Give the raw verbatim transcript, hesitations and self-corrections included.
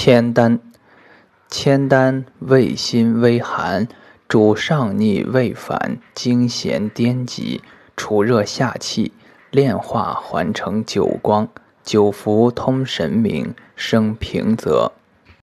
千丹，千丹味辛微寒，主上逆胃反，经咸颠急，除热下气，炼化还成久光，久服通神明，生平泽。